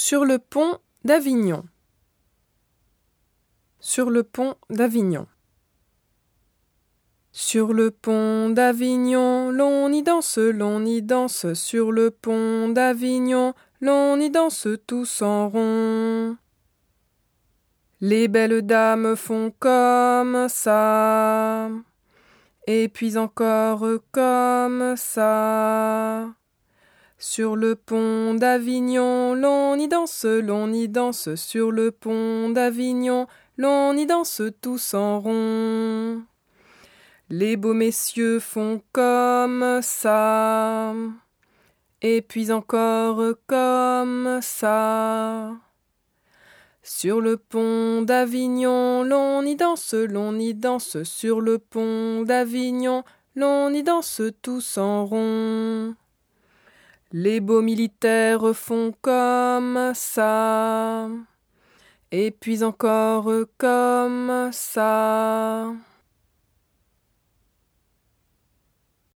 Sur le pont d'Avignon. Sur le pont d'Avignon. Sur le pont d'Avignon, l'on y danse, sur le pont d'Avignon, l'on y danse tous en rond. Les belles dames font comme ça, et puis encore comme ça. Sur le pont d'Avignon, l'on y danse, sur le pont d'Avignon, l'on y danse tous en rond. Les beaux messieurs font comme ça, et puis encore comme ça. Sur le pont d'Avignon, l'on y danse, sur le pont d'Avignon, l'on y danse tous en rond. Les beaux militaires font comme ça, et puis encore comme ça.